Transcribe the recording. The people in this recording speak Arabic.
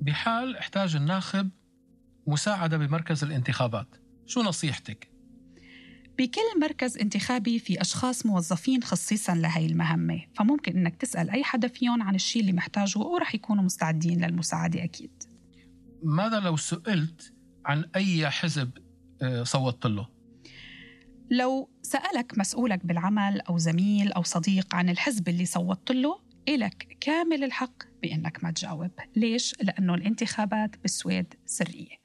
بحال احتاج الناخب مساعدة بمركز الانتخابات، شو نصيحتك؟ بكل مركز انتخابي في أشخاص موظفين خصيصاً لهي المهمة، فممكن إنك تسأل أي حدا فيهم عن الشيء اللي محتاجه ورح يكونوا مستعدين للمساعدة أكيد. ماذا لو سئلت عن أي حزب صوتت له؟ لو سألك مسؤولك بالعمل أو زميل أو صديق عن الحزب اللي صوتت له، إلك كامل الحق بأنك ما تجاوب. ليش؟ لأنه الانتخابات بالسويد سرية.